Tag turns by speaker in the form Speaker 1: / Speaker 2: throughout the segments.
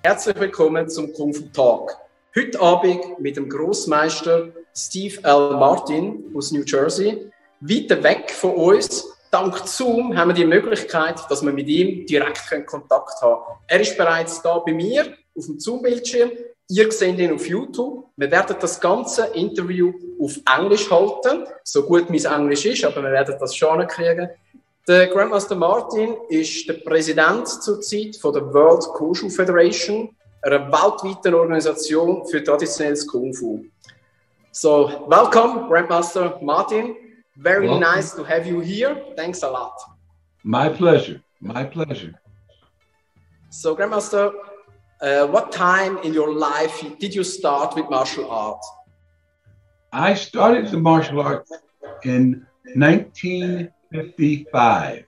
Speaker 1: Herzlich willkommen zum Kung Fu Talk. Heute Abend mit dem Grossmeister Steve L. Martin aus New Jersey. Weit weg von uns, dank Zoom, haben wir die Möglichkeit, dass wir mit ihm direkt Kontakt haben können. Er ist bereits da bei mir auf dem Zoom-Bildschirm. Ihr seht ihn auf YouTube. Wir werden das ganze Interview auf Englisch halten, so gut mein Englisch ist, aber wir werden das schon hinkriegen. Der Grandmaster Martin ist der Präsident zurzeit von der World Koshu Federation, einer weltweiten Organisation für traditionelles Kung Fu. So, welcome, Grandmaster Martin. Very nice to have you here. Thanks a lot.
Speaker 2: My pleasure. My pleasure.
Speaker 1: So, Grandmaster, what time in your life did you start with martial arts?
Speaker 2: I started the martial arts in 1955.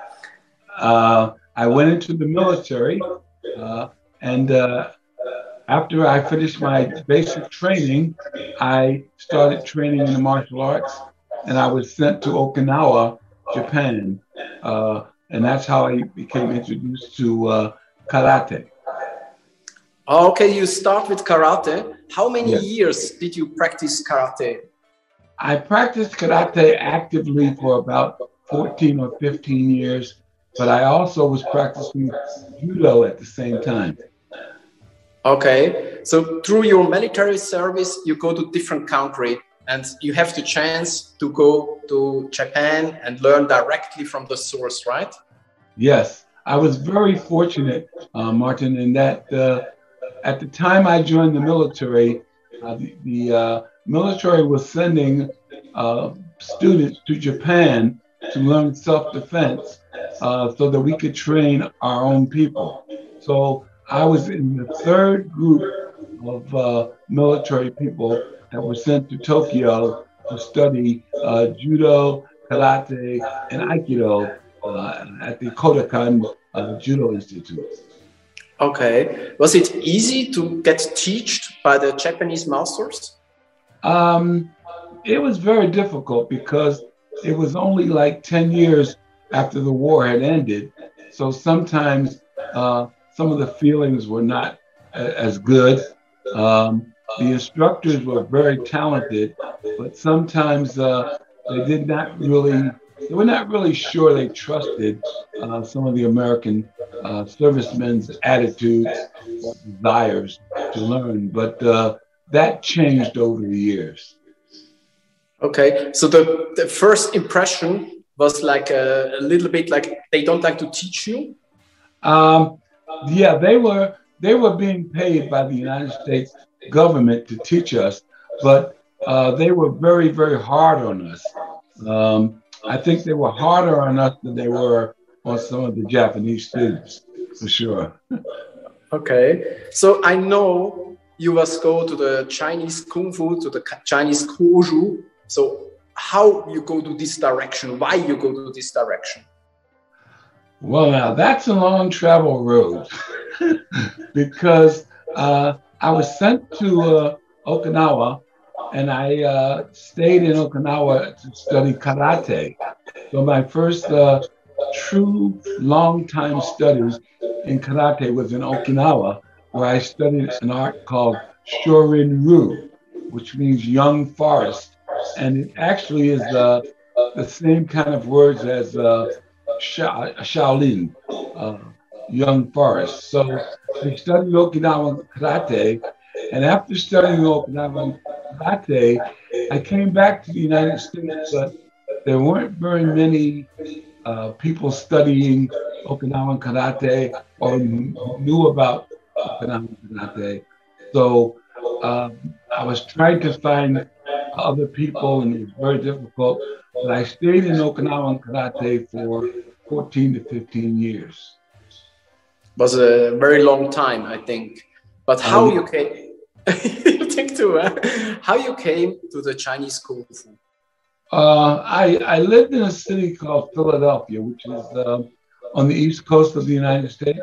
Speaker 2: I went into the military, and after I finished my basic training, I started training in the martial arts, and I was sent to Okinawa, Japan, and that's how I became introduced to karate.
Speaker 1: Okay, you start with karate. How many years did you practice karate?
Speaker 2: I practiced karate actively for about 14 or 15 years, but I also was practicing judo at the same time.
Speaker 1: Okay, so through your military service, you go to different countries and you have the chance to go to Japan and learn directly from the source, right?
Speaker 2: Yes, I was very fortunate, Martin, in that at the time I joined the military, the military was sending students to Japan to learn self-defense so that we could train our own people. So I was in the third group of military people that were sent to Tokyo to study judo, karate, and aikido at the Kodokan Judo Institute.
Speaker 1: Okay. Was it easy to get taught by the Japanese masters?
Speaker 2: It was very difficult because it was only like 10 years after the war had ended. So sometimes some of the feelings were not as good. The instructors were very talented, but sometimes they were not really sure they trusted some of the American servicemen's attitudes or desires to learn. But that changed over the years.
Speaker 1: Okay, so the first impression was like a little bit like they don't like to teach you?
Speaker 2: Yeah, they were being paid by the United States government to teach us, but they were very, very hard on us. I think they were harder on us than they were on some of the Japanese students, for sure.
Speaker 1: Okay, so I know you must go to the Chinese Kung Fu, to the Chinese Koshu. So how you go to this direction? Why you go to this direction?
Speaker 2: Well, now that's a long travel road because I was sent to Okinawa, and I stayed in Okinawa to study karate. So my first true long-time studies in karate was in Okinawa, where I studied an art called Shorin-ryu, which means young forest. And it actually is the same kind of words as Shaolin, young forest. So I studied Okinawan karate, and after studying Okinawan karate, I came back to the United States, but there weren't very many people studying Okinawan karate or knew about Okinawan karate. So I was trying to find other people, and it was very difficult. But I stayed in Okinawan karate for 14 to 15 years.
Speaker 1: It was a very long time, I think. But how you came? You think too? Huh? How you came to the Chinese Kung Fu?
Speaker 2: I lived in a city called Philadelphia, which is on the east coast of the United States,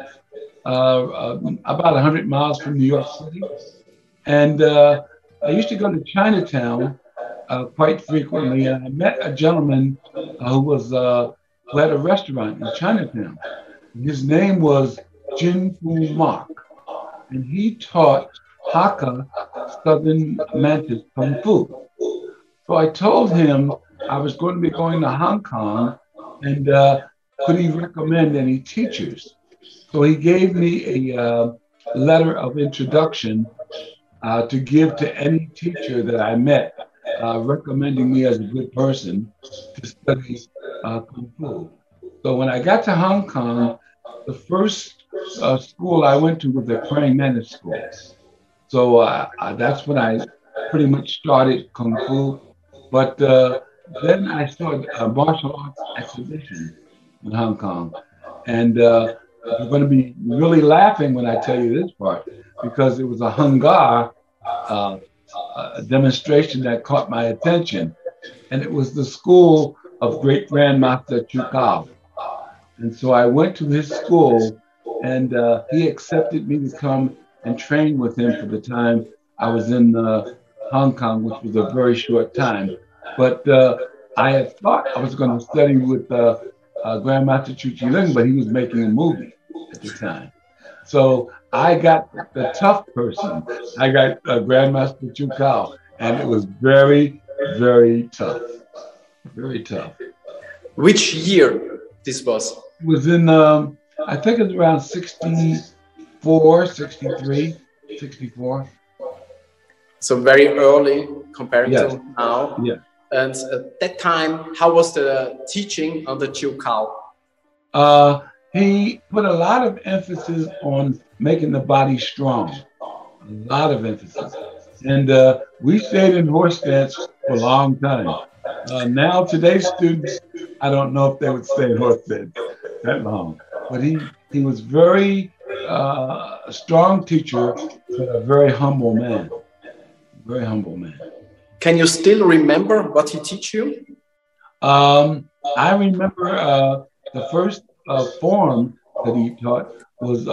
Speaker 2: about 100 miles from New York City. And I used to go to Chinatown quite frequently, and I met a gentleman who had a restaurant in Chinatown. His name was Jin Fu Mak, and he taught Hakka, Southern Mantis Kung Fu. So I told him I was going to be going to Hong Kong, and could he recommend any teachers? So he gave me a letter of introduction to give to any teacher that I met, recommending me as a good person to study Kung Fu. So when I got to Hong Kong, the first school I went to was the Praying Mantis School. So that's when I pretty much started Kung Fu. But then I started a martial arts exhibition in Hong Kong. And you're going to be really laughing when I tell you this part, because it was a Hung Gar demonstration that caught my attention. And it was the school of Great Grandmaster Chu Kao. And so I went to his school, and he accepted me to come and train with him for the time I was in Hong Kong, which was a very short time. But I had thought I was going to study with Grandmaster Chu Chi Lung, but he was making a movie at the time. So I got the tough person. I got Grandmaster Chu Kao, and it was very, very tough. Very tough.
Speaker 1: Which year this was?
Speaker 2: It was in, I think it was around 64, 63, 64.
Speaker 1: So very early compared
Speaker 2: Yes.
Speaker 1: to now.
Speaker 2: Yeah.
Speaker 1: And at that time, how was the teaching under Chu Kao?
Speaker 2: He put a lot of emphasis on making the body strong. A lot of emphasis. And we stayed in horse stance for a long time. Now, today's students, I don't know if they would stay in horse stance that long. But he was very a strong teacher, but a very humble man. Very humble man.
Speaker 1: Can you still remember what he teach you?
Speaker 2: I remember the first form that he taught was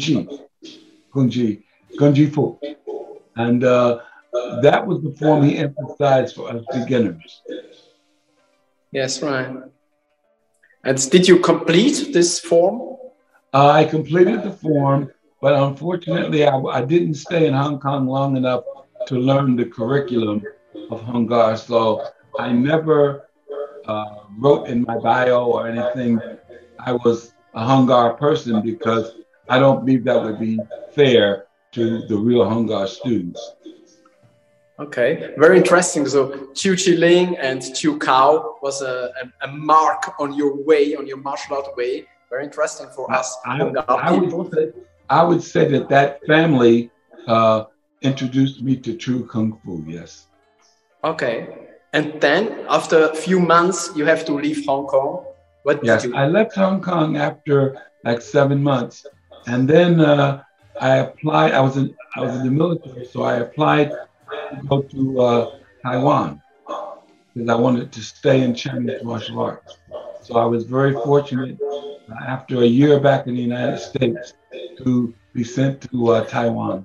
Speaker 2: Gunji Fu. And that was the form he emphasized for us beginners.
Speaker 1: Yes, right. And did you complete this form?
Speaker 2: I completed the form, but unfortunately, I didn't stay in Hong Kong long enough to learn the curriculum of Hung Gar. So I never wrote in my bio or anything I was a Hung Gar person, because I don't believe that would be fair to the real Hung Gar students.
Speaker 1: Okay, very interesting. So Chu Chi Ling and Chu Kao was a mark on your way, on your martial art way. Very interesting for us Hung Gar people.
Speaker 2: I would say that family introduced me to true Kung Fu, yes.
Speaker 1: Okay. And then after a few months, you have to leave Hong Kong. What did you do?
Speaker 2: I left Hong Kong after like 7 months. And then I applied, I was in the military, so I applied to go to Taiwan, because I wanted to stay in Chinese martial arts. So I was very fortunate after a year back in the United States to be sent to Taiwan.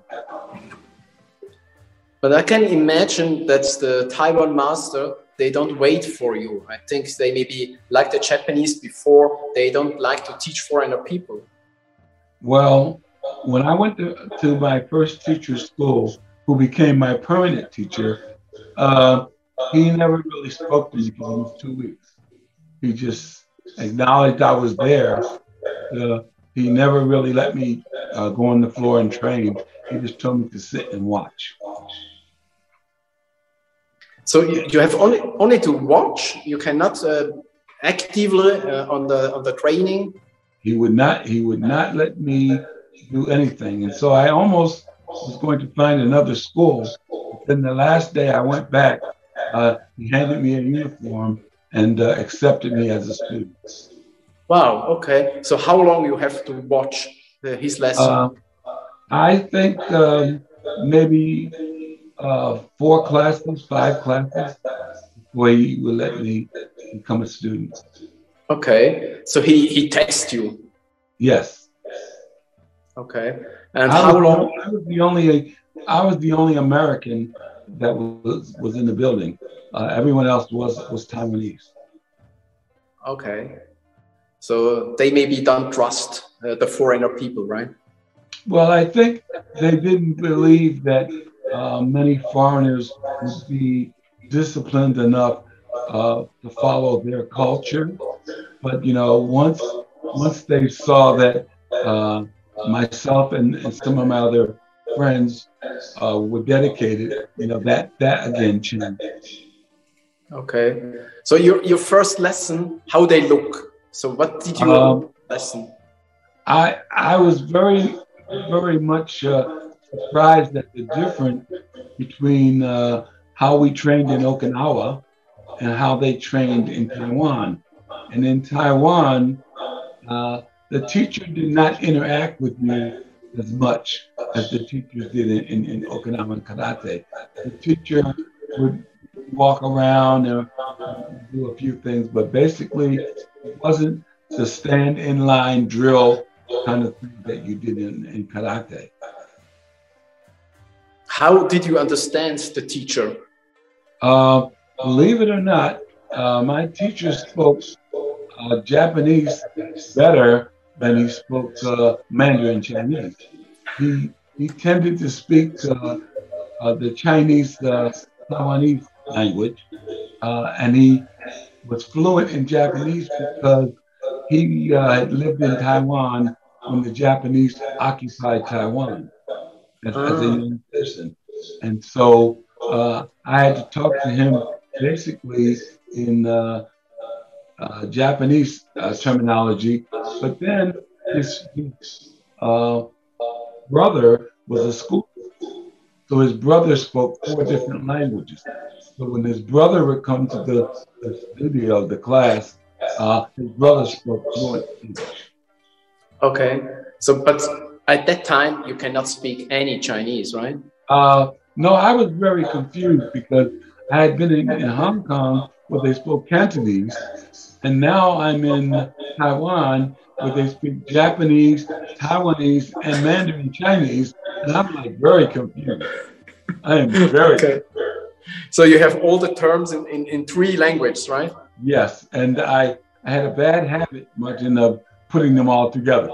Speaker 1: But I can imagine that the Taiwan master, they don't wait for you. I think they maybe, like the Japanese before, they don't like to teach foreigner people.
Speaker 2: Well, when I went to my first teacher's school, who became my permanent teacher, he never really spoke to me for almost 2 weeks. He just acknowledged I was there. He never really let me go on the floor and train. He just told me to sit and watch.
Speaker 1: So you have only to watch. You cannot actively on the training.
Speaker 2: He would not let me do anything, and so I almost was going to find another school. But then the last day I went back, he handed me a uniform and accepted me as a student.
Speaker 1: Wow. Okay. So how long you have to watch his lesson?
Speaker 2: I think maybe 4 classes, 5 classes, before he would let me become a student.
Speaker 1: Okay. So he tests you.
Speaker 2: Yes.
Speaker 1: Okay. And how long?
Speaker 2: I was the only American that was in the building. Everyone else was Taiwanese.
Speaker 1: Okay. So they maybe don't trust the foreigner people, right?
Speaker 2: Well, I think they didn't believe that many foreigners would be disciplined enough to follow their culture. But once they saw that myself and some of my other friends were dedicated, that again changed.
Speaker 1: Okay. So your first lesson, how they look. So what did you lesson?
Speaker 2: I was very, very much surprised at the difference between how we trained in Okinawa and how they trained in Taiwan. And in Taiwan, the teacher did not interact with you as much as the teachers did in Okinawan karate. The teacher would walk around and do a few things, but basically it wasn't the stand in line drill kind of thing that you did in karate.
Speaker 1: How did you understand the teacher?
Speaker 2: Believe it or not, my teacher spoke Japanese better than he spoke Mandarin Chinese. He tended to speak the Chinese Taiwanese language, and he was fluent in Japanese because he had lived in Taiwan when the Japanese occupied Taiwan as a young person. And so I had to talk to him basically in Japanese terminology, but then his brother was a school, so his brother spoke 4 different languages. So when his brother would come to the studio, the class, his brother spoke fluent English.
Speaker 1: Okay, so but at that time you cannot speak any Chinese, right?
Speaker 2: No, I was very confused because I had been in Hong Kong where they spoke Cantonese, and now I'm in Taiwan where they speak Japanese, Taiwanese, and Mandarin Chinese, and I'm like very confused. I am very
Speaker 1: okay. So you have all the terms in 3 languages, right?
Speaker 2: Yes, and I had a bad habit, Martin, of putting them all together.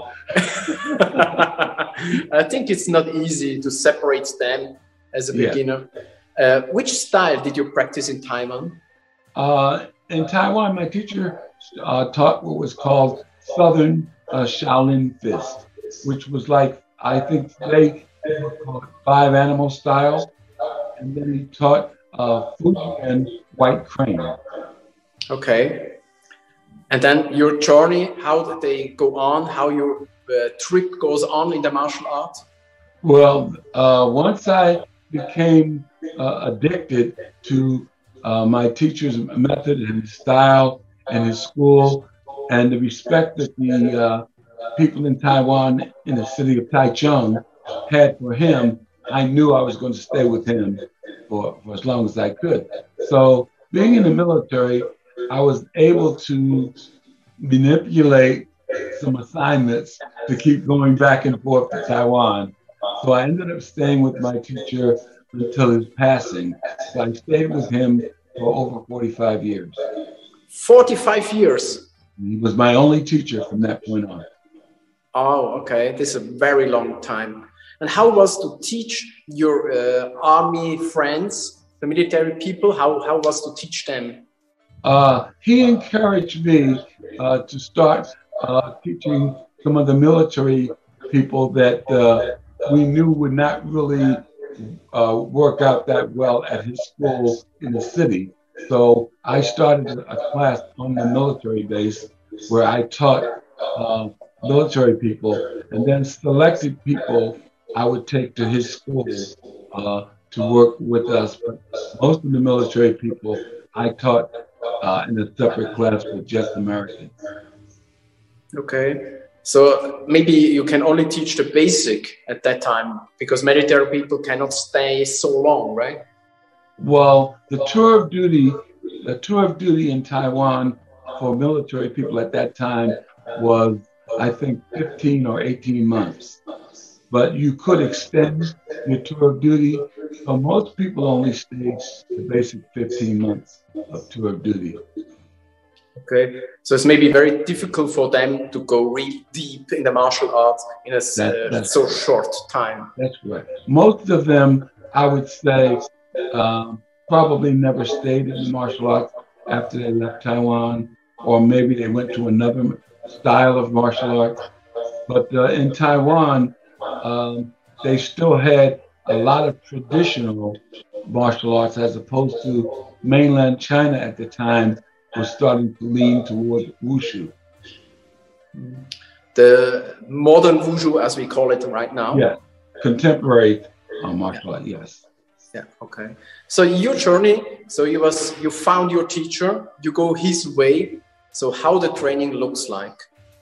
Speaker 1: I think it's not easy to separate them as a beginner. Which style did you practice in Taiwan?
Speaker 2: In Taiwan, my teacher taught what was called Southern Shaolin Fist, which was like, I think they call it 5 animal style. And then he taught Fujian White Crane.
Speaker 1: Okay. And then your journey, how did they go on? How your trip goes on in the martial art?
Speaker 2: Well, once I became addicted to my teacher's method and his style and his school and the respect that the people in Taiwan in the city of Taichung had for him, I knew I was going to stay with him for as long as I could. So being in the military, I was able to manipulate some assignments to keep going back and forth to Taiwan. So I ended up staying with my teacher until his passing. So I stayed with him for over 45 years.
Speaker 1: 45 years?
Speaker 2: He was my only teacher from that point on.
Speaker 1: Oh, okay. This is a very long time. And how was to teach your army friends, the military people? How was to teach them?
Speaker 2: He encouraged me to start teaching some of the military people that we knew would not really work out that well at his school in the city. So I started a class on the military base where I taught military people, and then selected people I would take to his school to work with us. But most of the military people I taught in a separate class with just Americans.
Speaker 1: Okay. So maybe you can only teach the basic at that time because military people cannot stay so long, right?
Speaker 2: Well, the tour of duty in Taiwan for military people at that time was, I think, 15 or 18 months. But you could extend your tour of duty. So most people only stay the basic 15 months of tour of duty.
Speaker 1: Okay, so it's maybe very difficult for them to go really deep in the martial arts in a so short time.
Speaker 2: That's right. Most of them, I would say, probably never stayed in the martial arts after they left Taiwan, or maybe they went to another style of martial arts. But in Taiwan, they still had a lot of traditional martial arts as opposed to mainland China at the time was starting to lean toward Wushu.
Speaker 1: The modern Wushu, as we call it right now?
Speaker 2: Yeah, contemporary martial art, yes.
Speaker 1: Yeah, okay. So your journey, so you found your teacher, you go his way. So how the training looks like?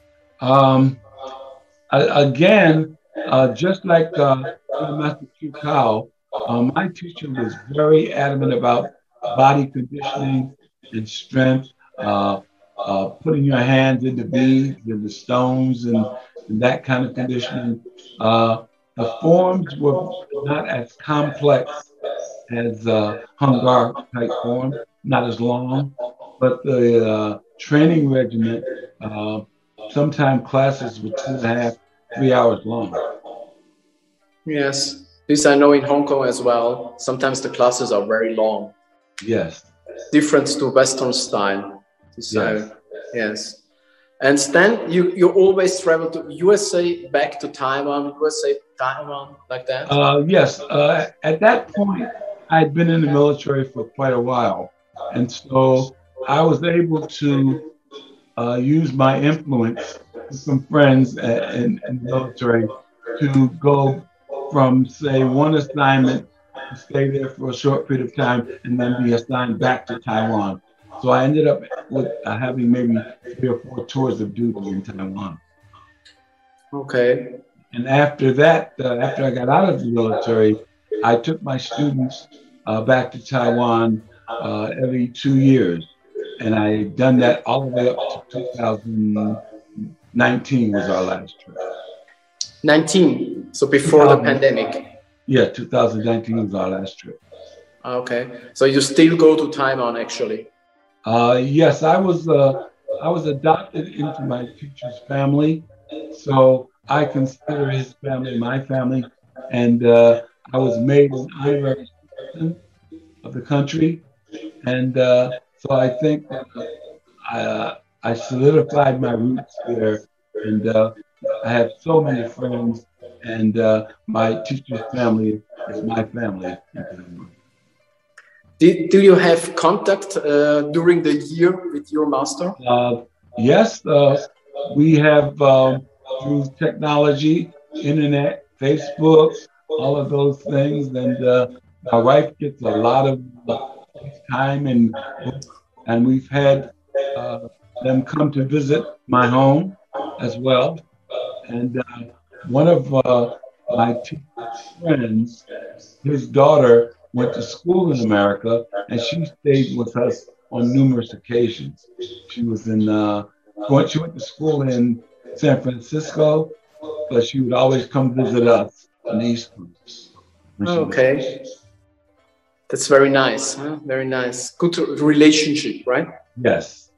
Speaker 2: Again, just like Master Chu Kao, my teacher was very adamant about body conditioning and strength, putting your hands in the beads and the stones and that kind of conditioning. The forms were not as complex as Hung Gar type form, not as long, but the training regimen, sometimes classes were 2.5, 3 hours long.
Speaker 1: Yes, this I know in Hong Kong as well. Sometimes the classes are very long.
Speaker 2: Yes.
Speaker 1: Different to Western style.
Speaker 2: Yes.
Speaker 1: Yes. And then you always travel to USA, back to Taiwan, USA, Taiwan, like that?
Speaker 2: Yes. At that point, I'd been in the military for quite a while. And so I was able to use my influence with some friends in the military to go from, say, one assignment to stay there for a short period of time and then be assigned back to Taiwan. So I ended up with having maybe 3 or 4 tours of duty in Taiwan.
Speaker 1: Okay.
Speaker 2: And after that, after I got out of the military, I took my students back to Taiwan every 2 years. And I done that all the way up to 2019 was our last trip.
Speaker 1: 19, so before the pandemic.
Speaker 2: Yeah, 2019 was our last trip.
Speaker 1: Okay, so you still go to Taiwan actually?
Speaker 2: Yes, I was adopted into my teacher's family, so I consider his family my family, and I was made an honorary citizen of the country, and so I think I solidified my roots there, and I have so many friends, and my teacher's family is my family.
Speaker 1: Do you have contact during the year with your master?
Speaker 2: Yes, we have through technology, internet, Facebook, all of those things, and my wife gets a lot of time, and we've had them come to visit my home as well. And one of my teacher's friends, his daughter went to school in America, and she stayed with us on numerous occasions. She was in she went to school in San Francisco, but she would always come visit us on the East Coast.
Speaker 1: Okay. That's very nice, huh? Very nice. Good relationship, right?
Speaker 2: Yes.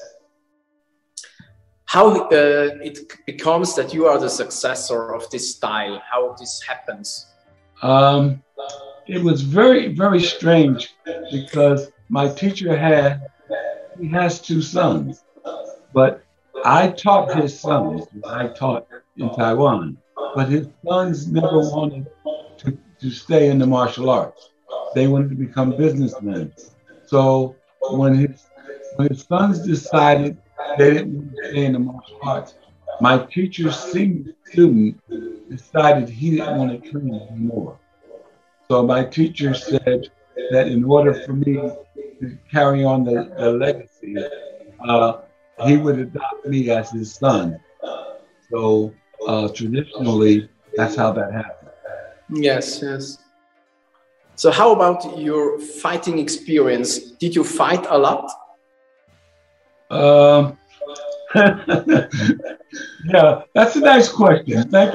Speaker 1: How it becomes that you are the successor of this style? How this happens?
Speaker 2: It was very, very strange because my teacher has 2 sons, but I taught his sons. I taught in Taiwan, but his sons never wanted to stay in the martial arts. They wanted to become businessmen. So when his sons decided they didn't want to stay in the martial arts, my teacher's senior student decided he didn't want to train anymore. So my teacher said that in order for me to carry on the legacy, he would adopt me as his son. So traditionally, that's how that happened.
Speaker 1: Yes, yes. So how about your fighting experience? Did you fight a lot?
Speaker 2: Yeah, that's a nice question. Thank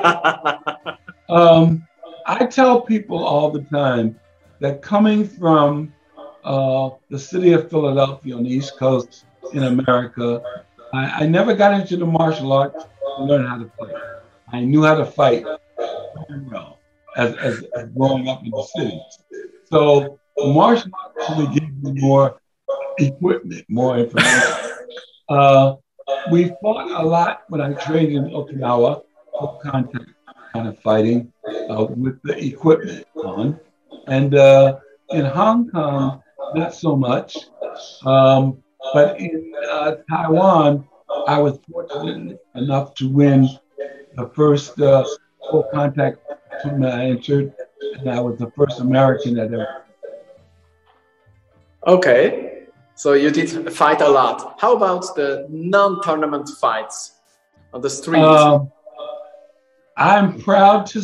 Speaker 2: you. I tell people all the time that coming from the city of Philadelphia on the East Coast in America, I never got into the martial arts to learn how to fight. I knew how to fight very well as growing up in the city. So martial arts really gave me more equipment, more information. We fought a lot when I trained in Okinawa, full contact kind of fighting with the equipment on. And in Hong Kong, not so much. But in Taiwan, I was fortunate enough to win the first full contact tournament I entered, and I was the first American that ever.
Speaker 1: Okay, so you did fight a lot. How about the non-tournament fights on the street?
Speaker 2: I'm proud to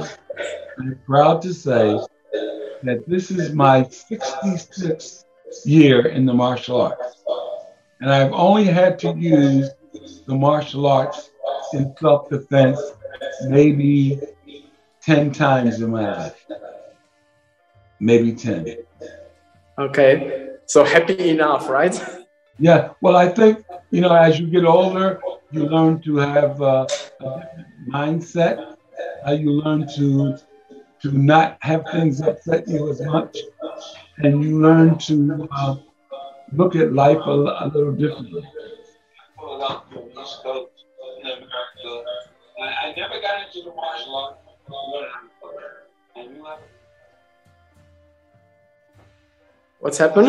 Speaker 2: say that this is my 66th year in the martial arts. And I've only had to use the martial arts in self-defense maybe 10 times in my life. Maybe 10.
Speaker 1: Okay, so happy enough, right?
Speaker 2: Yeah, well, I think, as you get older, you learn to have a different mindset. You learn to not have things upset you as much. And you learn to look at life a little differently. I never got into the martial arts.
Speaker 1: What's happened?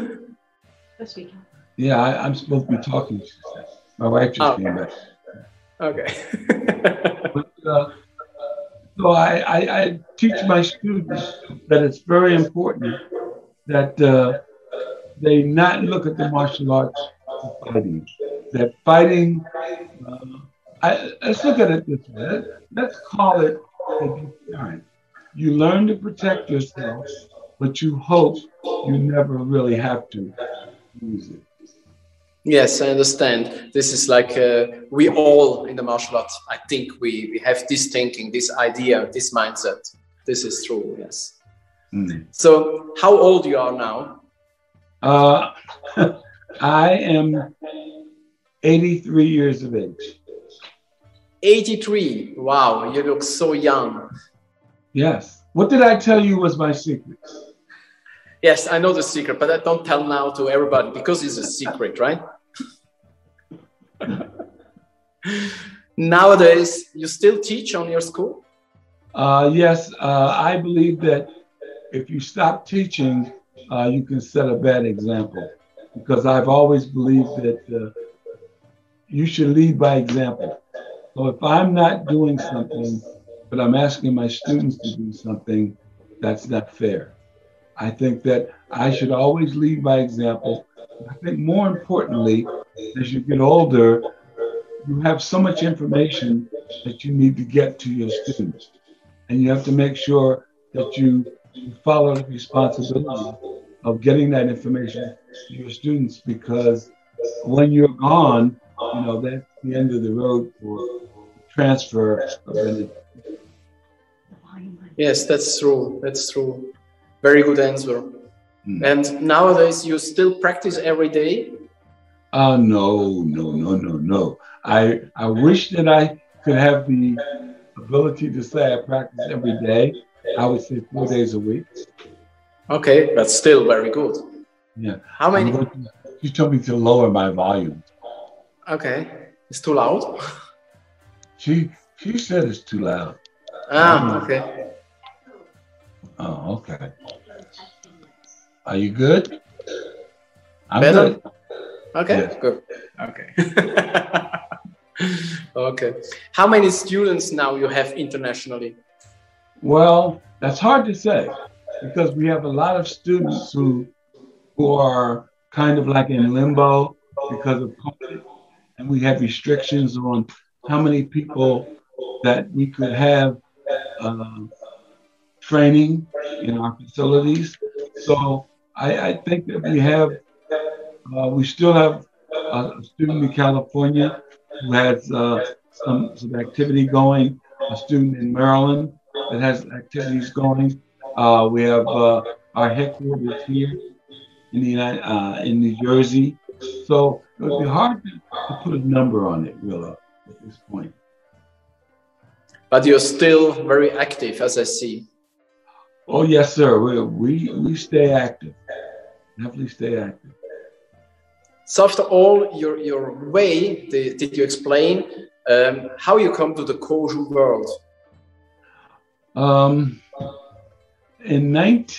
Speaker 2: Yeah, I'm supposed to be talking. My wife just came back.
Speaker 1: Okay.
Speaker 2: But, so I teach my students that it's very important that they not look at the martial arts as fighting. That fighting, let's look at it this way. Let's call it a deterrent. You learn to protect yourself, but you hope you never really have to use it.
Speaker 1: Yes, I understand. This is like we all in the martial arts, I think we have this thinking, this idea, this mindset. This is true, yes. Mm. So how old you are now?
Speaker 2: I am 83 years of age.
Speaker 1: 83? Wow, you look so young.
Speaker 2: Yes. What did I tell you was my secret?
Speaker 1: Yes, I know the secret, but I don't tell now to everybody because it's a secret, right? Nowadays, you still teach on your school?
Speaker 2: Yes, I believe that if you stop teaching, you can set a bad example. Because I've always believed that you should lead by example. So if I'm not doing something, but I'm asking my students to do something, that's not fair. I think that I should always lead by example. I think more importantly, as you get older, you have so much information that you need to get to your students. And you have to make sure that you follow the responsibility of getting that information to your students, because when you're gone, that's the end of the road for transfer of energy.
Speaker 1: Yes, that's true. That's true. Very good answer. Mm. And nowadays, you still practice every day?
Speaker 2: No. I wish that I could have the ability to say I practice every day. I would say 4 days a week.
Speaker 1: Okay, that's still very good.
Speaker 2: Yeah.
Speaker 1: How many?
Speaker 2: She told me to lower my volume.
Speaker 1: Okay. It's too loud?
Speaker 2: She said it's too loud.
Speaker 1: Okay.
Speaker 2: Oh, okay. Are you good? I'm
Speaker 1: better?
Speaker 2: Good.
Speaker 1: Okay, yes. Good. Okay. Okay. How many students now you have internationally?
Speaker 2: Well, that's hard to say, because we have a lot of students who are kind of like in limbo because of COVID, and we have restrictions on how many people that we could have training in our facilities. So I think that we still have a student in California who has some activity going, a student in Maryland that has activities going. We have our headquarters here in New Jersey. So it would be hard to put a number on it, really, at this point.
Speaker 1: But you're still very active, as I see.
Speaker 2: Oh, yes, sir. We stay active. Definitely stay active.
Speaker 1: So after all your way, did you explain how you come to the Koshu world?
Speaker 2: In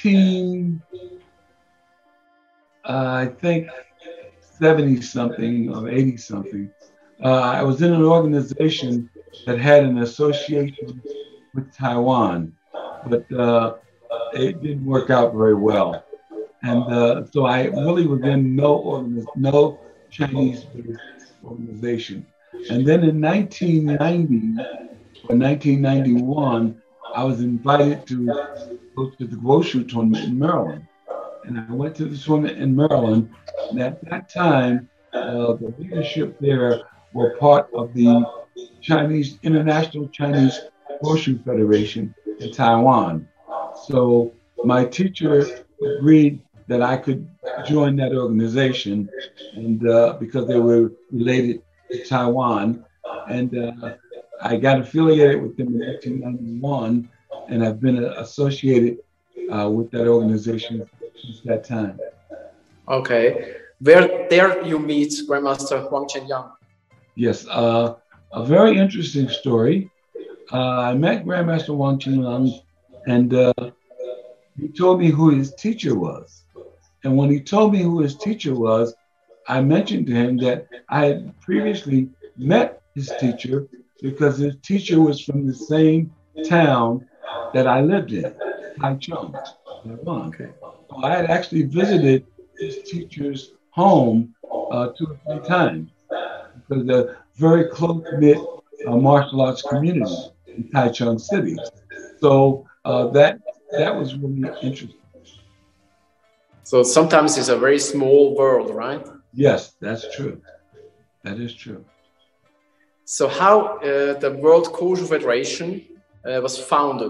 Speaker 2: I think 70 something or 80 something, I was in an organization that had an association with Taiwan, but it didn't work out very well. And so I really was in no Chinese-based organization. And then in 1990 or 1991, I was invited to go to the Wushu tournament in Maryland. And I went to the tournament in Maryland. And at that time, the leadership there were part of the International Chinese Wushu Federation in Taiwan. So my teacher agreed that I could join that organization, and because they were related to Taiwan, and I got affiliated with them in 1991, and I've been associated with that organization since that time.
Speaker 1: Okay, where there you meet Grandmaster Huang Qianyang?
Speaker 2: Yes, a very interesting story. I met Grandmaster Huang Qianyang, and he told me who his teacher was. And when he told me who his teacher was, I mentioned to him that I had previously met his teacher because his teacher was from the same town that I lived in, Taichung, Taiwan. Okay. So I had actually visited his teacher's home 2 or 3 times because they're very close-knit martial arts community in Taichung City. So that was really interesting.
Speaker 1: So sometimes it's a very small world, right?
Speaker 2: Yes, that's true. That is true.
Speaker 1: So how the World Koshu Federation was founded?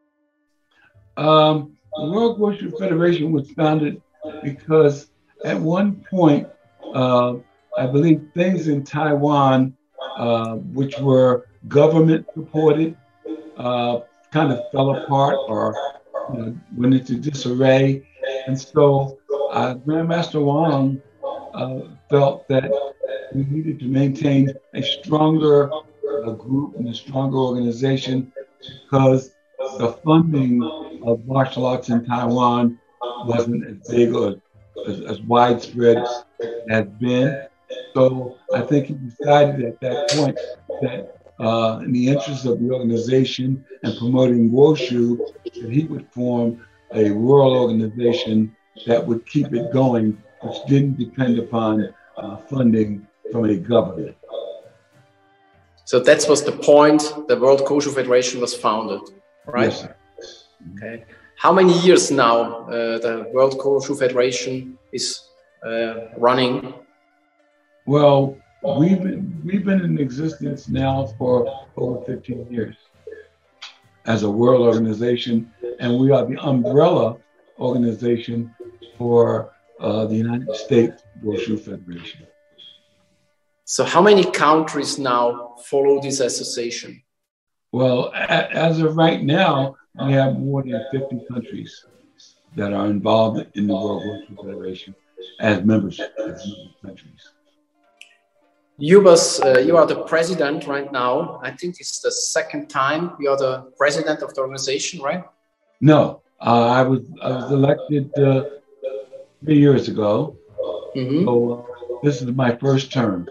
Speaker 2: The World Koshu Federation was founded because at one point, I believe things in Taiwan, which were government supported, kind of fell apart or went into disarray. And so Grandmaster Wang felt that we needed to maintain a stronger group and a stronger organization because the funding of martial arts in Taiwan wasn't as big or as widespread as it has been. So I think he decided at that point that in the interest of the organization and promoting Wushu, that he would form a world organization that would keep it going, which didn't depend upon funding from a government.
Speaker 1: So that was the point the World Koshu Federation was founded, right?
Speaker 2: Yes, sir.
Speaker 1: Okay. How many years now the World Koshu Federation is running?
Speaker 2: Well, we've been in existence now for over 15 years as a world organization, and we are the umbrella organization for the United States Wushu Federation.
Speaker 1: So how many countries now follow this association?
Speaker 2: Well, as of right now, we have more than 50 countries that are involved in the World Wushu Federation as members countries.
Speaker 1: You are the president right now. I think it's the second time you are the president of the organization, right?
Speaker 2: No, I was elected 3 years ago. Mm-hmm. So this is my first term.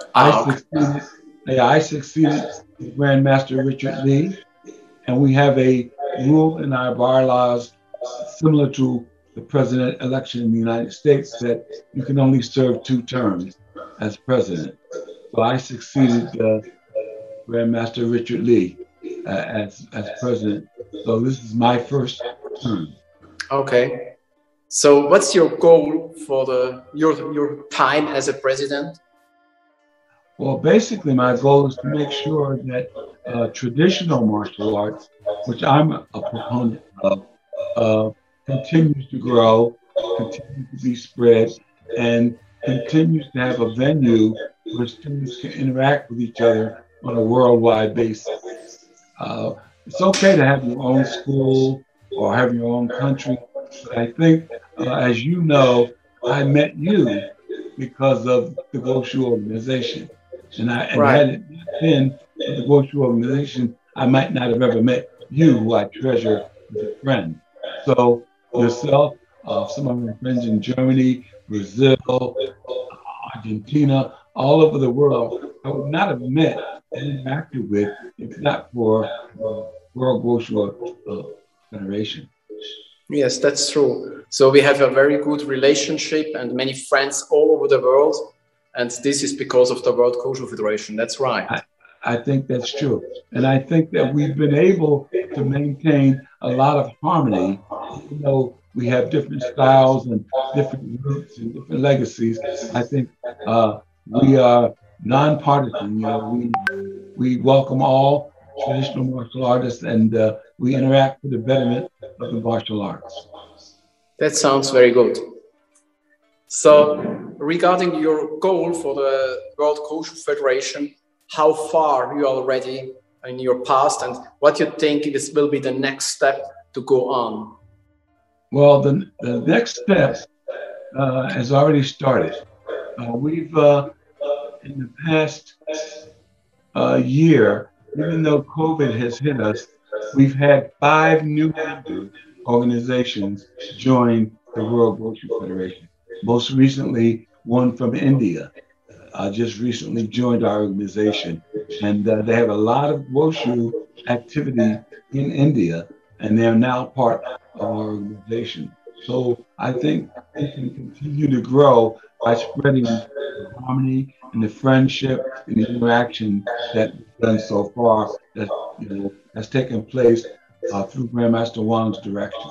Speaker 2: I succeeded Grandmaster Richard Lee, and we have a rule in our bylaws similar to the president election in the United States that you can only serve 2 terms as president. So I succeeded Grandmaster Richard Lee as president. So this is my first term.
Speaker 1: Okay. So what's your goal for your time as a president?
Speaker 2: Well, basically my goal is to make sure that traditional martial arts, which I'm a proponent of, continues to grow, continues to be spread, and continues to have a venue where students can interact with each other on a worldwide basis. It's okay to have your own school or have your own country, but I think, as you know, I met you because of the Goshu organization. And had it not been for the Goshu organization, I might not have ever met you, who I treasure as a friend. So yourself, some of my friends in Germany, Brazil, Argentina, all over the world, I would not have met and interacted with if not for World Goshu Federation.
Speaker 1: Yes, that's true. So we have a very good relationship and many friends all over the world. And this is because of the World Goshu Federation. That's right.
Speaker 2: I think that's true. And I think that we've been able to maintain a lot of harmony, even though we have different styles and different roots and different legacies. I think we are nonpartisan. You know, we welcome all traditional martial artists, and we interact for the betterment of the martial arts.
Speaker 1: That sounds very good. So, regarding your goal for the World Goshu Federation, how far you are already in your past, and what you think this will be the next step to go on?
Speaker 2: Well, the next step has already started. We've, in the past year, even though COVID has hit us, we've had 5 new member organizations join the World Goshu Federation. Most recently, one from India just recently joined our organization, and they have a lot of Goshu activity in India, and they are now part of our organization. So I think we can continue to grow by spreading the harmony and the friendship and the interaction that we've done so far, that has taken place through Grandmaster Wang's direction.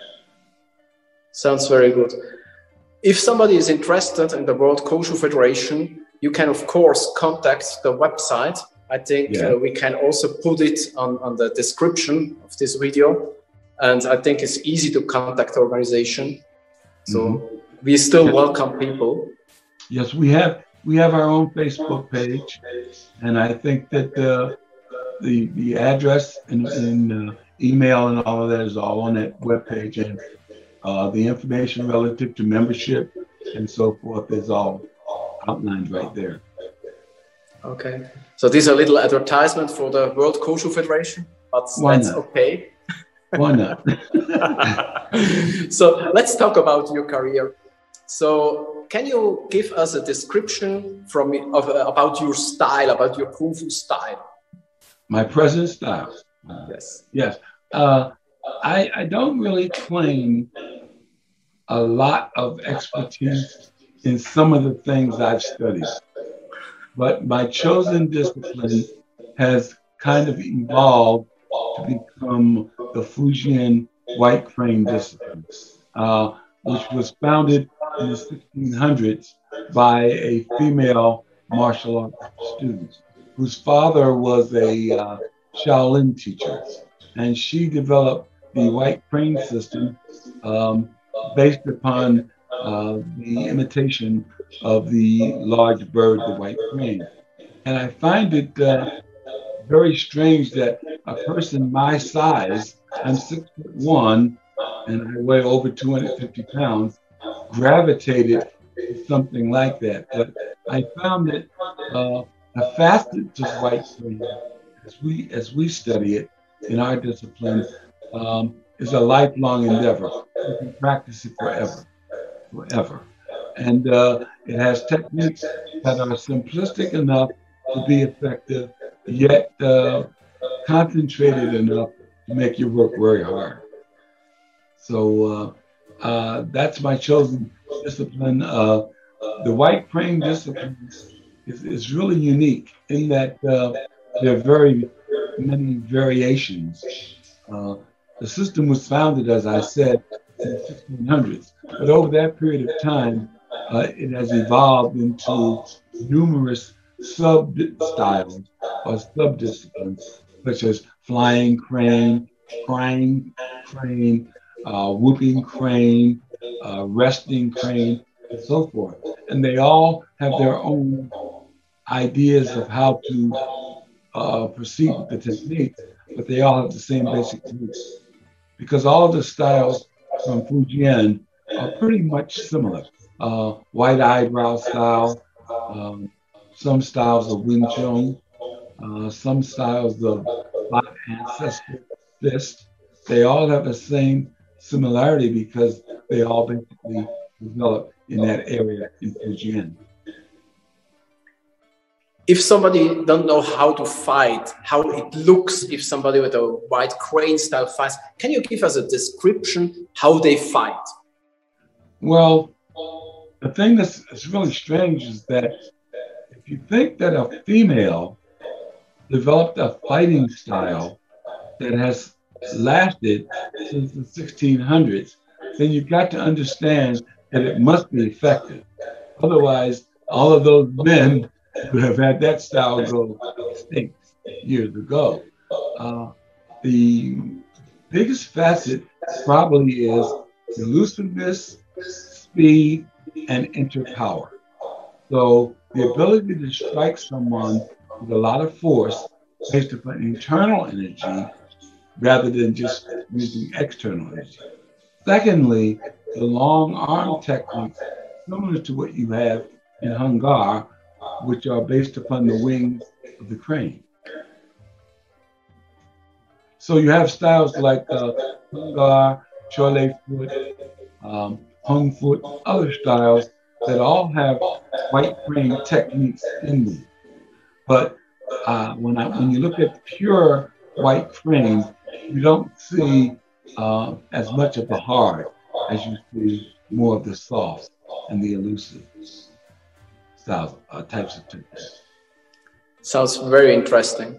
Speaker 1: Sounds very good. If somebody is interested in the World Goshu Federation, you can of course contact the website. I think we can also put it on the description of this video. And I think it's easy to contact the organization. So we still welcome people.
Speaker 2: Yes, we have our own Facebook page, and I think that the address and email and all of that is all on that webpage, and the information relative to membership and so forth is all outlined right there.
Speaker 1: Okay, so this is a little advertisement for the World Goshu Federation, but that's okay.
Speaker 2: Why not?
Speaker 1: So let's talk about your career. So can you give us a description about your style, about your Kung Fu style?
Speaker 2: My present style?
Speaker 1: Yes.
Speaker 2: Yes. I don't really claim a lot of expertise in some of the things I've studied, but my chosen discipline has kind of evolved to become the Fujian White Crane discipline, which was founded in the 1600s by a female martial arts student whose father was a Shaolin teacher, and she developed the White Crane system based upon the imitation of the large bird, the white crane. And I find it very strange that a person my size, I'm 6'1", and I weigh over 250 pounds, gravitated to something like that. But I found that a facet to white crane, as we study it in our discipline, is a lifelong endeavor. You can practice it forever. And it has techniques that are simplistic enough to be effective, yet concentrated enough to make you work very hard. So that's my chosen discipline. The White Crane discipline is really unique in that there are very many variations. The system was founded, as I said, in the 1600s, but over that period of time, it has evolved into numerous sub-styles or sub-disciplines, such as flying crane, crying crane, whooping crane, resting crane, and so forth. and they all have their own ideas of how to proceed with the technique, but they all have the same basic techniques. Because all of the styles from Fujian are pretty much similar. White eyebrow style, some styles of Wing Chun, some styles of Black Ancestor Fist. They all have the same similarity because they all basically developed in that area in Fujian.
Speaker 1: If somebody don't know how to fight, how it looks if somebody with a white crane style fights, can you give us a description how they fight?
Speaker 2: Well, the thing that's really strange is that if you think that a female developed a fighting style that has lasted since the 1600s, then you've got to understand that it must be effective. Otherwise, all of those men would have had that style go extinct years ago. The biggest facet probably is elusiveness, speed, and interpower. So the ability to strike someone with a lot of force based upon internal energy rather than just using external energy. Secondly, the long arm techniques similar to what you have in Hung Gar, which are based upon the wings of the crane. So you have styles like Hung Gar, Chole foot, Hung foot, other styles that all have white crane techniques in them. But when you look at pure white crane, you don't see as much of the hard as you see more of the soft and the elusive styles, types of techniques.
Speaker 1: Sounds very interesting.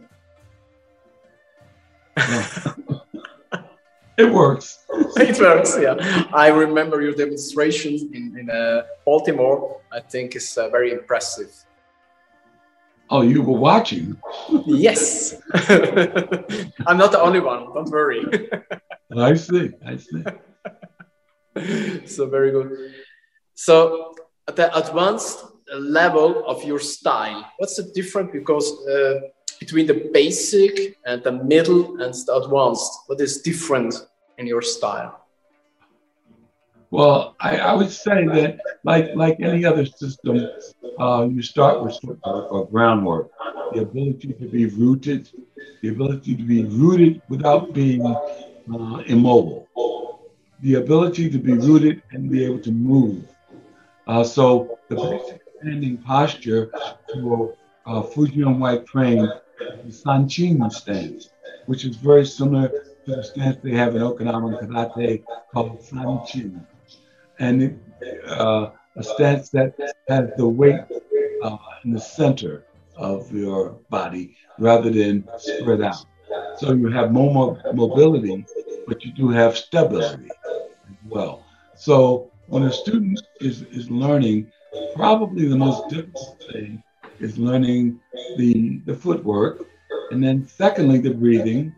Speaker 2: Yeah. It works.
Speaker 1: It works, yeah. I remember your demonstrations in Baltimore. I think it's very impressive.
Speaker 2: Oh, you were watching?
Speaker 1: Yes. I'm not the only one, don't worry.
Speaker 2: I see.
Speaker 1: So very good. So at the advanced level of your style, what's the difference between the basic and the middle and the advanced? What is different in your style?
Speaker 2: Well, I would say that like any other system, you start with footwork or groundwork, the ability to be rooted, without being immobile, the ability to be rooted and be able to move. So the basic standing posture for Fujian white crane is the Sanchin stance, which is very similar to the stance they have in Okinawan karate called Sanchin. And a stance that has the weight in the center of your body rather than spread out. So you have more mobility, but you do have stability as well. So when a student is learning, probably the most difficult thing is learning the footwork. And then secondly, the breathing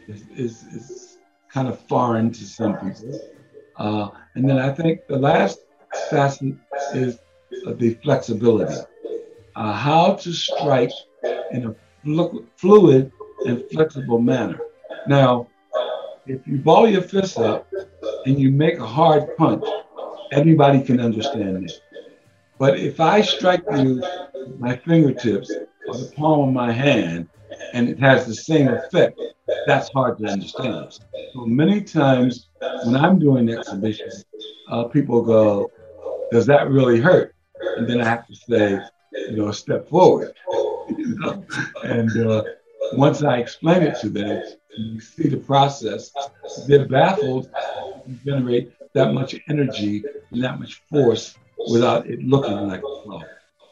Speaker 2: is kind of foreign to some people. And then I think the last facet is the flexibility. How to strike in a fluid and flexible manner. Now, if you ball your fist up and you make a hard punch, everybody can understand it. But if I strike you with my fingertips or the palm of my hand and it has the same effect, that's hard to understand. So many times when I'm doing exhibitions, people go, does that really hurt? And then I have to say, step forward. And once I explain it to them, you see the process, they're baffled to generate that much energy and that much force without it looking like a flow.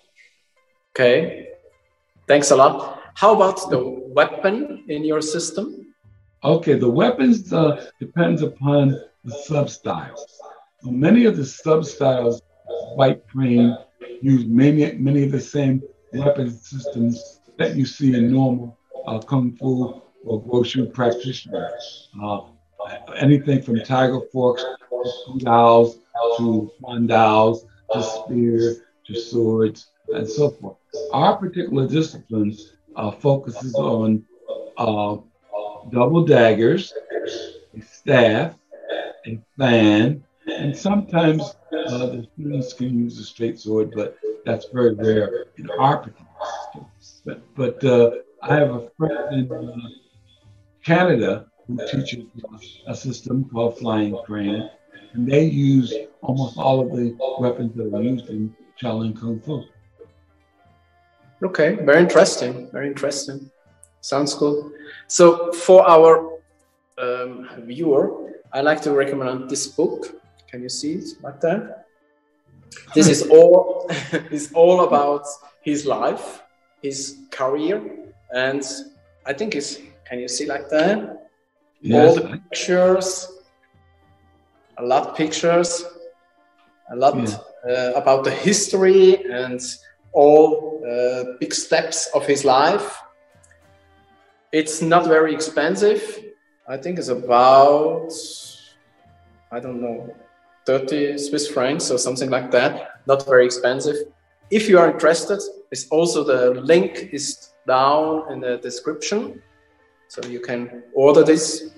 Speaker 1: Okay, thanks a lot. How about the weapon in your system?
Speaker 2: Okay, the weapons depends upon the sub-styles. So many of the sub-styles, white crane, use many of the same weapon systems that you see in normal Kung Fu or Wushu practitioners. Anything from tiger forks to Pu Daos to Huan Daos to spear to swords, and so forth. Our particular discipline focuses on double daggers, a staff, a fan, and sometimes the students can use a straight sword, but that's very rare in our particular system. But I have a friend in Canada who teaches a system called Flying Crane, and they use almost all of the weapons that are used in Shaolin Kung Fu.
Speaker 1: Okay, very interesting. Very interesting. Sounds good. So for our viewer, I like to recommend this book. Can you see it like that? This is all is all about his life, his career, and I think it's. Can you see like that? Yes. All the pictures, a lot of pictures, a lot about the history and all big steps of his life. It's not very expensive. I think it's about, I don't know, 30 Swiss francs or something like that. Not very expensive. If you are interested, it's also the link is down in the description. So you can order this.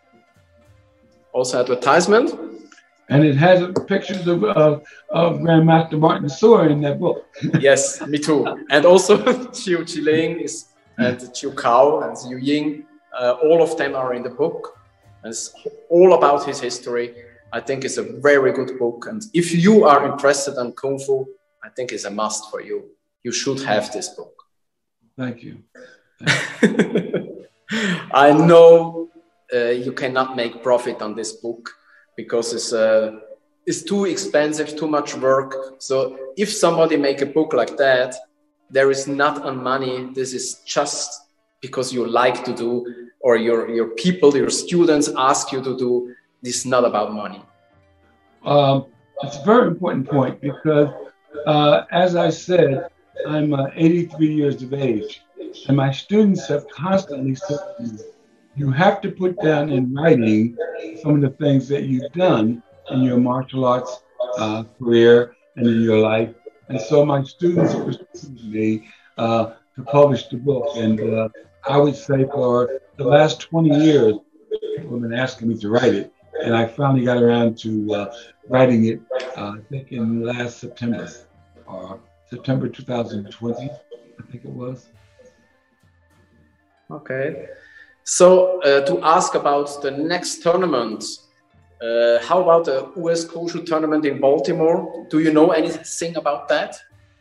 Speaker 1: Also advertisement.
Speaker 2: And it has pictures of Grandmaster Martin Soor in that book.
Speaker 1: Yes, me too. And also Chiu Chiling is and Chiu Kao and Yu Ying. All of them are in the book. And it's all about his history. I think it's a very good book. And if you are interested in Kung Fu, I think it's a must for you. You should have this book.
Speaker 2: Thank you.
Speaker 1: I know you cannot make profit on this book because it's too expensive, too much work. So if somebody make a book like that, there is not on money. This is just because you like to do, or your people, your students ask you to do. This is not about money.
Speaker 2: It's a very important point because, as I said, I'm 83 years of age. And my students have constantly said to me, you have to put down in writing some of the things that you've done in your martial arts career and in your life. And so my students pursued me to publish the book. And I would say for the last 20 years, people have been asking me to write it. And I finally got around to writing it, I think in last September, or September 2020, I think it was.
Speaker 1: Okay. So to ask about the next tournament, how about the US Koshu tournament in Baltimore? Do you know anything about that?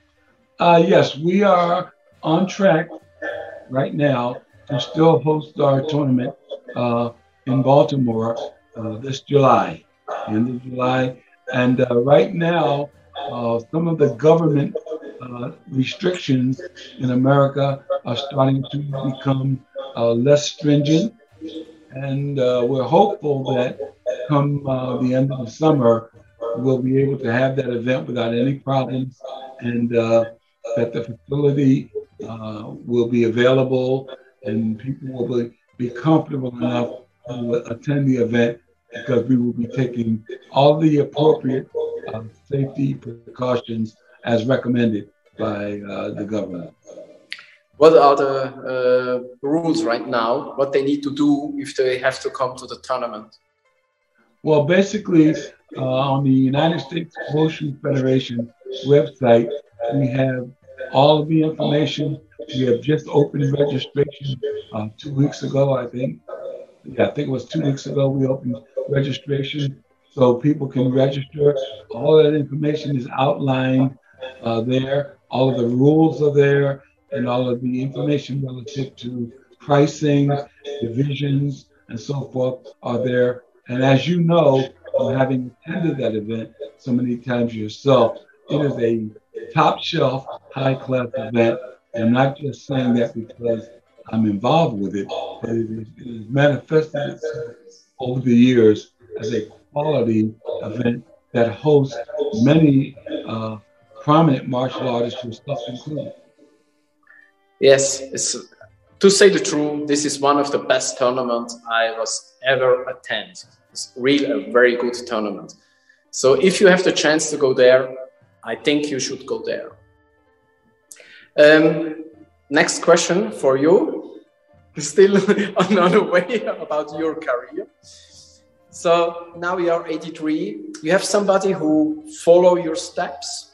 Speaker 2: Yes, we are on track right now to still host our tournament in Baltimore this July, end of July. And right now, some of the government restrictions in America are starting to become less stringent, and we're hopeful that come the end of the summer, we'll be able to have that event without any problems, and that the facility will be available and people will be comfortable enough to attend the event, because we will be taking all the appropriate safety precautions as recommended by the government.
Speaker 1: What are the rules right now? What they need to do if they have to come to the tournament?
Speaker 2: Well, basically, on the United States Koshu Federation website, we have all of the information. We have just opened registration 2 weeks ago, I think. Yeah, I think it was 2 weeks ago we opened registration, so people can register. All that information is outlined there. All of the rules are there, and all of the information relative to pricing, divisions, and so forth are there. And as you know, having attended that event so many times yourself, it is a top shelf, high class event. And I'm not just saying that because I'm involved with it, but it has manifested itself over the years as a quality event that hosts many prominent martial artists, yourself included.
Speaker 1: Yes, to say the truth, this is one of the best tournaments I was ever attend. It's really a very good tournament. So if you have the chance to go there, I think you should go there. Next question for you. Still another way about your career. So now you are 83. You have somebody who follow your steps?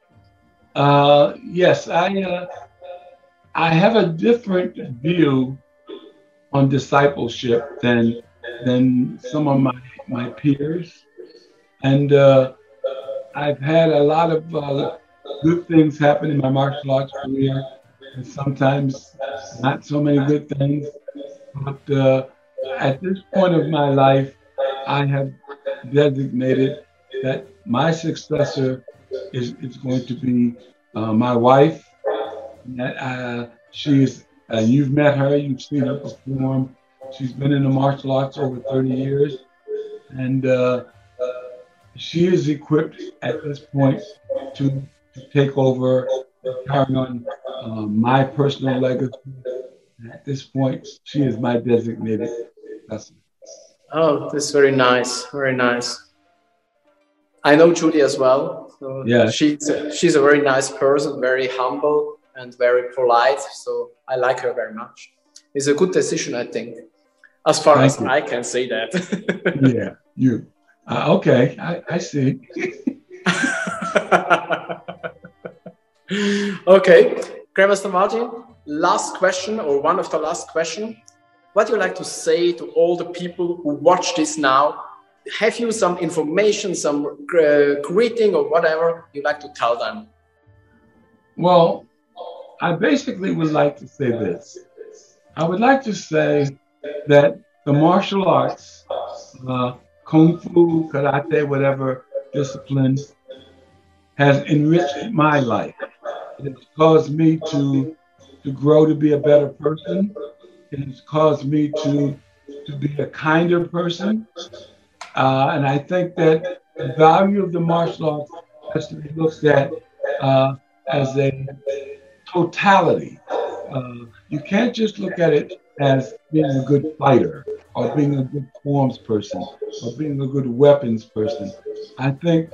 Speaker 2: Yes, I have a different view on discipleship than some of my peers, and I've had a lot of good things happen in my martial arts career, and sometimes not so many good things. But at this point of my life, I have designated that my successor is going to be my wife. That you've met her, you've seen her perform. She's been in the martial arts over 30 years, and she is equipped at this point to take over and carry on my personal legacy. At this point, she is my designated successor.
Speaker 1: Oh, that's very nice, very nice. I know Judy as well. So
Speaker 2: yeah,
Speaker 1: she's a very nice person, very humble and very polite. So I like her very much. It's a good decision, I think, as far as I can say that.
Speaker 2: Yeah, you. Okay, I see.
Speaker 1: Okay, Grandmaster Martin, last question, or one of the last questions. What do you like to say to all the people who watch this now? Have you some information, some greeting or whatever you like to tell them?
Speaker 2: Well, I basically would like to say this. I would like to say that the martial arts, Kung Fu, Karate, whatever discipline, has enriched my life. It has caused me to grow to be a better person. It has caused me to be a kinder person. And I think that the value of the martial arts has to be looked at as a totality. You can't just look at it as being a good fighter or being a good forms person or being a good weapons person. I think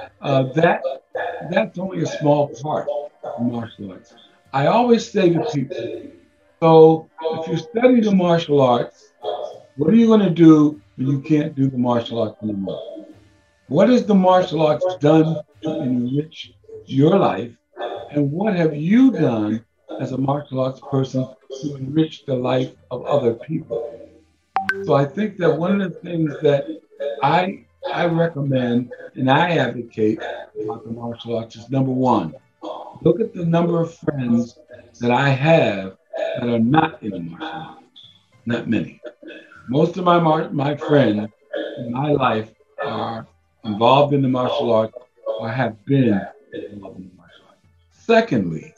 Speaker 2: that's only a small part of martial arts. I always say to people, so if you study the martial arts, what are you going to do when you can't do the martial arts anymore? What has the martial arts done to enrich your life? And what have you done as a martial arts person to enrich the life of other people? So I think that one of the things that I recommend and I advocate about the martial arts is, number one, look at the number of friends that I have that are not in the martial arts. Not many. Most of my friends in my life are involved in the martial arts or have been involved in the martial arts. Secondly,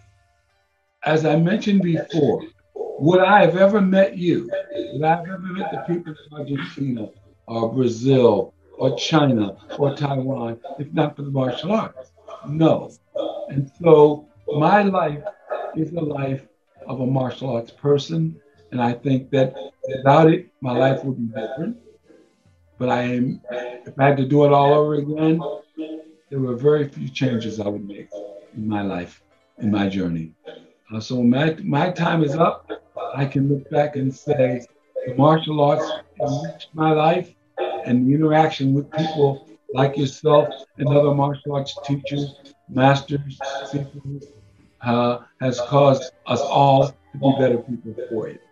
Speaker 2: as I mentioned before, would I have ever met you? Would I have ever met the people of Argentina or Brazil or China or Taiwan if not for the martial arts? No. And so my life is the life of a martial arts person. And I think that without it, my life would be different. But if I had to do it all over again, there were very few changes I would make in my life, in my journey. So when my time is up, I can look back and say the martial arts enriched my life, and the interaction with people like yourself and other martial arts teachers, masters, teachers, has caused us all to be better people for it.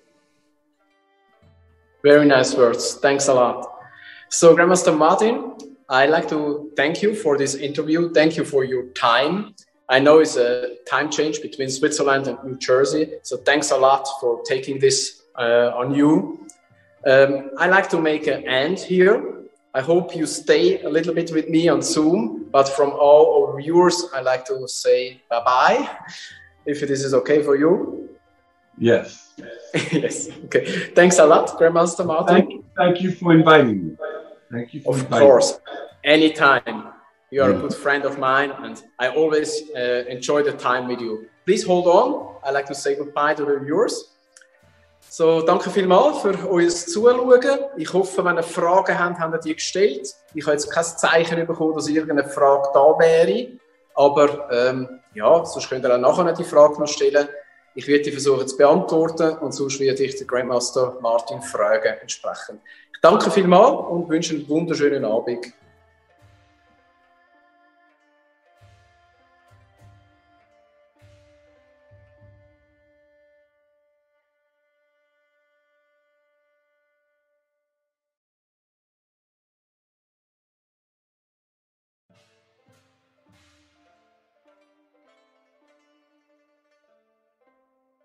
Speaker 1: Very nice words. Thanks a lot. So, Grandmaster Martin, I'd like to thank you for this interview. Thank you for your time. I know it's a time change between Switzerland and New Jersey, so thanks a lot for taking this on you. I like to make an end here. I hope you stay a little bit with me on Zoom, but from all our viewers, I like to say bye-bye, if this is okay for you.
Speaker 2: Yes.
Speaker 1: Yes. Okay. Thanks a lot, Grandmaster Martin.
Speaker 2: Thank you for inviting me. Thank you for inviting me.
Speaker 1: Of course. Anytime. You are a good friend of mine, and I always enjoy the time with you. Please hold on. I like to say goodbye to the viewers. So, danke vielmals für euer Zuschauen. Ich hoffe, wenn ihr Fragen habt, habt ihr die gestellt. Ich habe jetzt kein Zeichen bekommen, dass irgendeine Frage da wäre. Aber ja, sonst könnt ihr auch nachher die Frage noch stellen. Ich werde die versuchen zu beantworten und sonst werde ich den Grandmaster Martin fragen entsprechend. Ich danke vielmals und wünsche einen wunderschönen Abend.